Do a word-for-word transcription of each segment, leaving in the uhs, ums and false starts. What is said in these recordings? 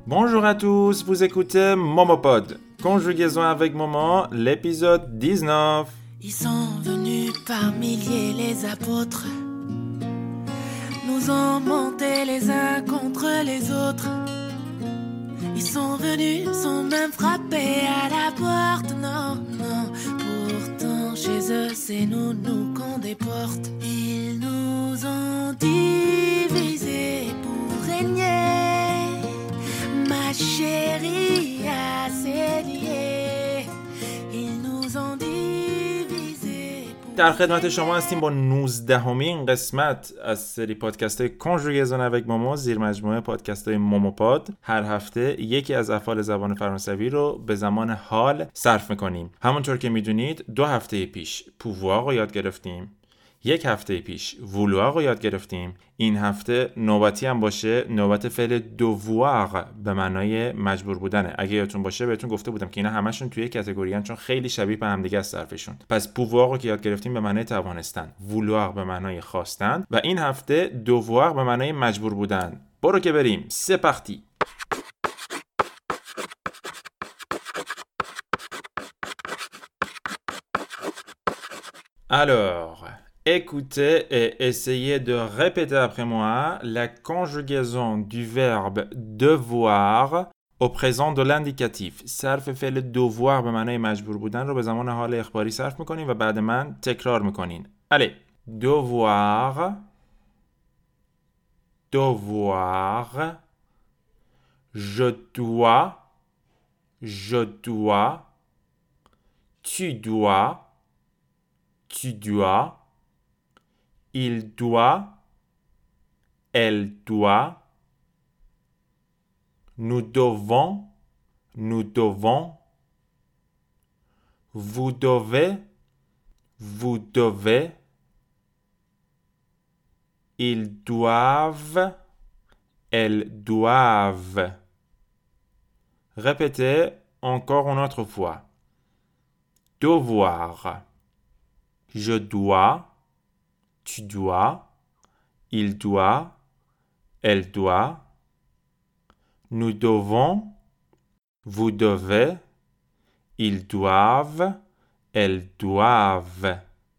Bonjour à tous, vous écoutez Momopod, conjugaison avec Momo, l'épisode dix-neuf. Ils sont venus par milliers les apôtres, nous ont monté les uns contre les autres. Ils sont venus, sont même frappés à la porte, non, non. Pourtant chez eux c'est nous, nous qu'on déporte. Ils nous ont divisés pour régner, ma chérie assez liée. Ils nous ont divisés pour در خدمت شما هستیم با نوزدهمین قسمت از سری پادکست های کنجوگیزون avec مومو، زیر مجموعه پادکست های موموپاد. هر هفته یکی از افعال زبان فرانسوی رو به زمان حال صرف میکنیم. همونطور که میدونید دو هفته پیش pouvoir رو یاد گرفتیم، یک هفته پیش vouloir رو یاد گرفتیم. این هفته نوبتی هم باشه، نوبت فعل devoir به معنای مجبور بودنه. اگه یادتون باشه بهتون گفته بودم که اینا همشون توی کاتگوری ان، چون خیلی شبیه به هم دیگه است صرفشون. پس pouvoir رو که یاد گرفتیم به معنای توانستن، vouloir به معنای خواستن و این هفته devoir به معنای مجبور بودن. برو که بریم. C'est parti. Alors, écoutez et essayez de répéter après moi la conjugaison du verbe devoir au présent de l'indicatif. صرف فعل devoir به معنای مجبور بودن رو به زمان حال اخباری صرف میکنین و بعد من تکرار میکنین. Allez, devoir, devoir, je dois, je dois, tu dois, tu dois, il doit, elle doit, nous devons, nous devons, vous devez, vous devez, ils doivent, elles doivent. Répétez encore une autre fois. Devoir. Je dois, tu dois, il doit, elle doit, nous devons, vous devez, ils doivent, elles doivent.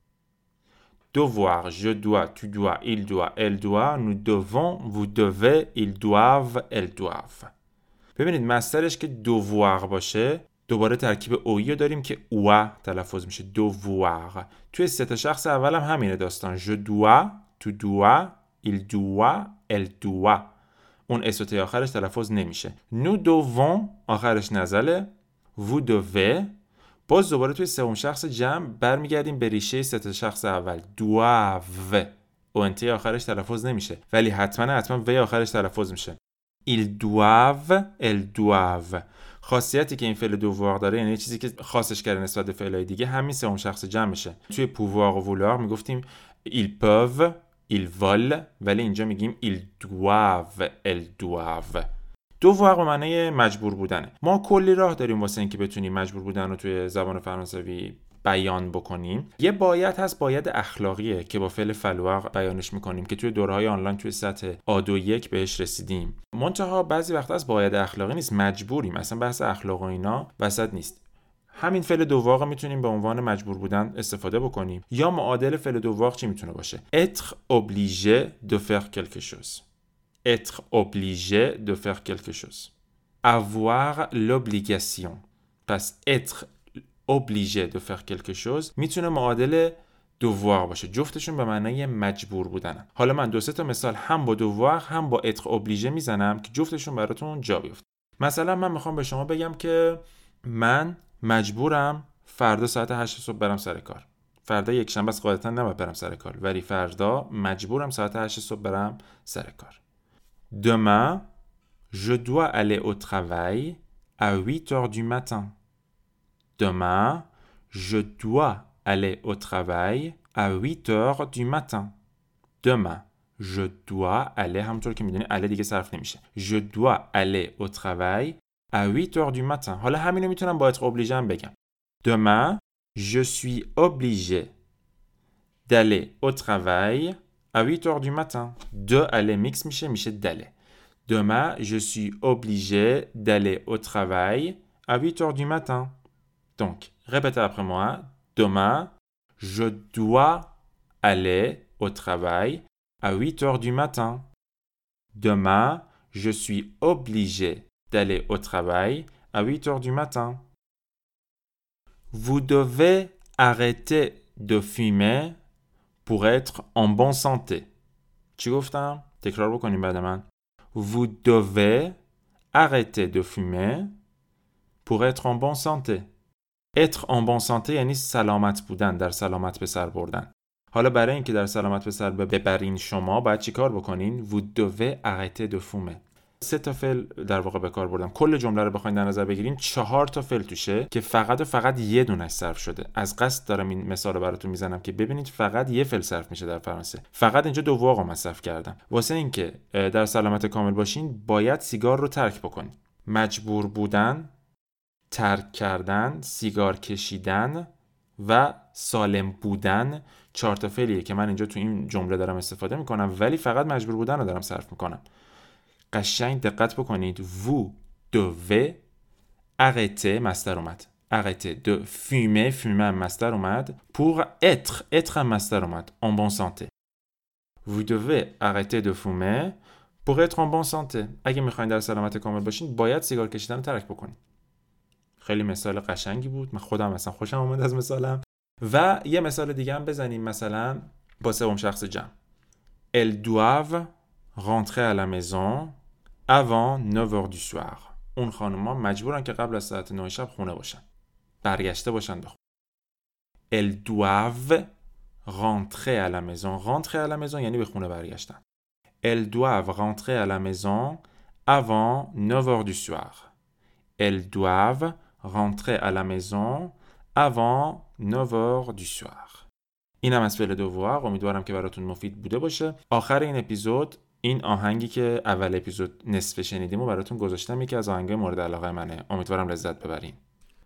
Devoir, je dois, tu dois, il doit, elle doit, nous devons, vous devez, ils doivent, elles doivent. ببینید مصدرش که devoir باشه دوباره ترکیب اویی داریم که او تلفظ میشه، devoir. توی سه تا شخص اول هم همینه داستان. je dois, tu dois, il doit, elle doit. اون اس و تی آخرش تلفظ نمیشه. nous devons آخرش نزله. vous devez. باز دوباره توی سوم شخص جمع برمیگردیم به ریشه سه تا شخص اول. doivent. اون تی آخرش تلفظ نمیشه ولی حتما حتما و آخرش تلفظ میشه. ils doivent, elles doivent. خاصیتی که این فعل devoir داره، یعنی چیزی که خاصش کرده نسبت به فعلای دیگه، همین سوم شخص جمع میشه. توی pouvoir و vouloir میگفتیم ils peuvent, ils veulent، ولی اینجا میگیم ils doivent, elles doivent. devoir به معنی مجبور بودنه. ما کلی راه داریم واسه اینکه بتونیم مجبور بودن رو توی زبان فرانسوی بیان بکنیم. یه باید هست، باید اخلاقیه که با فعل فلوار بیانش میکنیم که توی دوره‌های آنلاین توی سطح آ دو یک بهش رسیدیم. منتها بعضی وقتا از باید اخلاقی نیست، مجبوریم. اصلا بحث اخلاق و اینا وسط نیست. همین فعل devoir میتونیم به عنوان مجبور بودن استفاده بکنیم. یا معادل فعل devoir چی میتونه باشه؟ être obligé de faire quelque chose. être obligé de faire quelque chose. avoir l'obligation. پس être obligé de faire quelque chose میتونه معادل devoir باشه. جفتشون به معنای مجبور بودنن. حالا من دو سه تا مثال هم با devoir هم با être obligé میزنم که جفتشون براتون جا بیفته. مثلا من میخوام به شما بگم که من مجبورم فردا ساعت هشت صبح برم سر کار. فردا یک شنبه است، قاعدتا نباید برم سر کار، ولی فردا مجبورم ساعت هشت صبح برم سر کار. Demain, je dois aller au travail à huit heures du matin. Demain, je dois aller au travail à huit heures du matin. Demain, je dois aller, همونطور که میدونی aller دیگه صرف نمیشه. Je dois aller au travail à huit heures du matin. حالا همینو میتونم با être obligé هم بگم. Demain, je suis obligé d'aller au travail à huit heures du matin. De aller mix میشه میشه d'aller. Demain, je suis obligé d'aller au travail à huit heures du matin. Donc, répétez après moi. Demain, je dois aller au travail à huit heures du matin. Demain, je suis obligé d'aller au travail à huit heures du matin. Vous devez arrêter de fumer pour être en bonne santé. چی گفتم؟ تکرار بکنیم بعد من. Vous devez arrêter de fumer pour être en bonne santé. être en bonne santé یعنی سلامت بودن، در سلامت به سر بردن. حالا برای اینکه در سلامت به سر ببرین شما باید چی کار بکنین؟ Vous devez arrêter de fumer. سه تا فعل در واقع به کار بردم. کل جمله رو بخواید در نظر بگیرین چهار تا فعل توشه که فقط و فقط یه دونش صرف شده. از قصد دارم این مثال رو براتون میزنم که ببینید فقط یه فعل صرف میشه در فرانسه. فقط اینجا دو واقع مصرف کردم. واسه اینکه در سلامت کامل باشین باید سیگار رو ترک بکنین. مجبور بودن، ترک کردن، سیگار کشیدن و سالم بودن چهار تا فعلیه که من اینجا تو این جمله دارم استفاده میکنم ولی فقط مجبور بودن رو دارم صرف میکنم. قشنگ دقت بکنید. Vous devez arrêter مصدر اومد. arrêter de fumer fumer هم مصدر اومد. pour être être هم مصدر اومد. en bonne santé. Vous devez arrêter de fumer pour être en bonne santé. اگه میخواین در سلامت کامل باشین باید سیگار کشیدن رو ترک بکنید. خیلی مثال قشنگی بود. من خودم اصلا خوشم اومد از مثالم. و یه مثال دیگه هم بزنیم مثلا با سوم شخص جمع. Elles doivent rentrer à la maison avant neuf heures du soir. اون خانم‌ها مجبورن که قبل از ساعت نه شب خونه باشن. برگشته باشن به خونه. Elles doivent rentrer à la maison. rentrer à la maison یعنی به خونه برگشتن. Elles doivent rentrer à la maison avant neuf heures du soir. Elles doivent rentrer à la maison avant neuf heures du soir. اینم از فعل دووار. امیدوارم که براتون مفید بوده باشه. آخر این اپیزود این آهنگی که اول اپیزود نصف شنیدیم و براتون گذاشتم یکی از آهنگای مورد علاقه منه. امیدوارم لذت ببرین.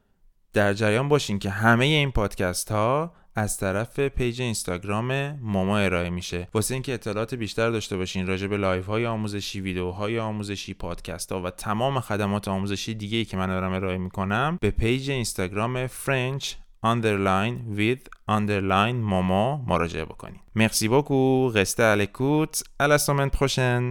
در جریان باشین که همه این پادکست ها از طرف پیج اینستاگرام مومو ارائه میشه. واسه اینکه اطلاعات بیشتر داشته باشین راجع به لایو های آموزشی، ویدیوهای آموزشی، پادکست ها و تمام خدمات آموزشی دیگه‌ای که من دارم ارائه میکنم به پیج اینستاگرام French underline with underline momo مراجعه بکنید. Merci beaucoup. Restez à l'écoute. À la semaine prochaine.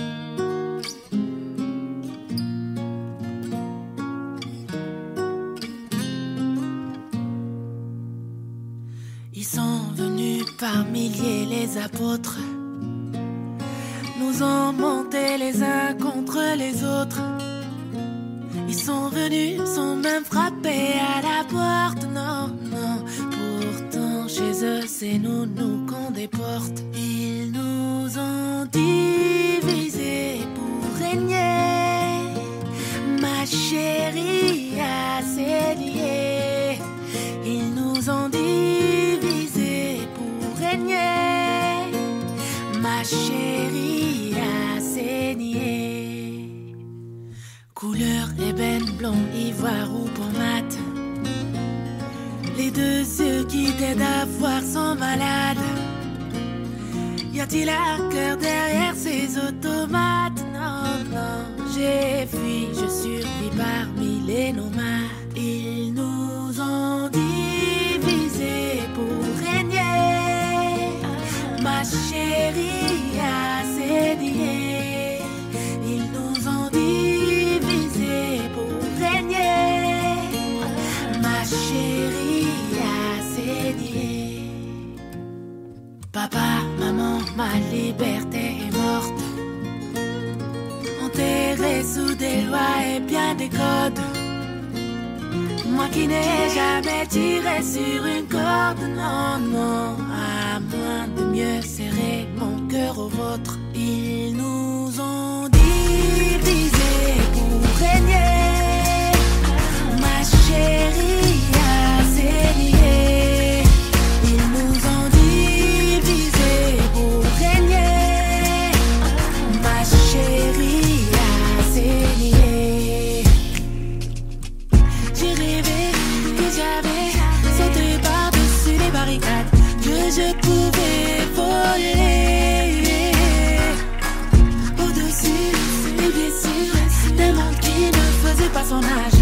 Ils sont venus par milliers les apôtres, nous ont monté les uns contre les autres. Ils sont venus, sont même frappés à la porte. Non, non, pourtant chez eux c'est nous, nous qu'on déporte. Ils nous ont divisés pour régner. Ma chérie a saigné. Ils nous ont divisés pour régner. Ma chérie a saigné. Couleur ébène, blond, ivoire ou pommade. Les deux yeux qui t'aident à voir sont malades. Y a-t-il un cœur derrière ces automates? Non, non, j'ai fui, je survis parmi les nomades. Ils nous ont divisés pour régner. Ma chérie a saigné. Ils nous ont divisés pour régner. Ma chérie a saigné. Papa, maman, ma liberté est morte. Enterrée sous des lois et bien des codes. Moi qui n'ai jamais tiré sur une corde. Non, non, à moins de mieux serrer mon cœur au vôtre. Ils nous ont divisés pour régner. Ma chérie a saigné. Ils nous ont divisés pour régner. Ma chérie a saigné. J'ai rêvé que j'avais sauté par-dessus les barricades, que je pouvais voler au-dessus choisit pas son âge.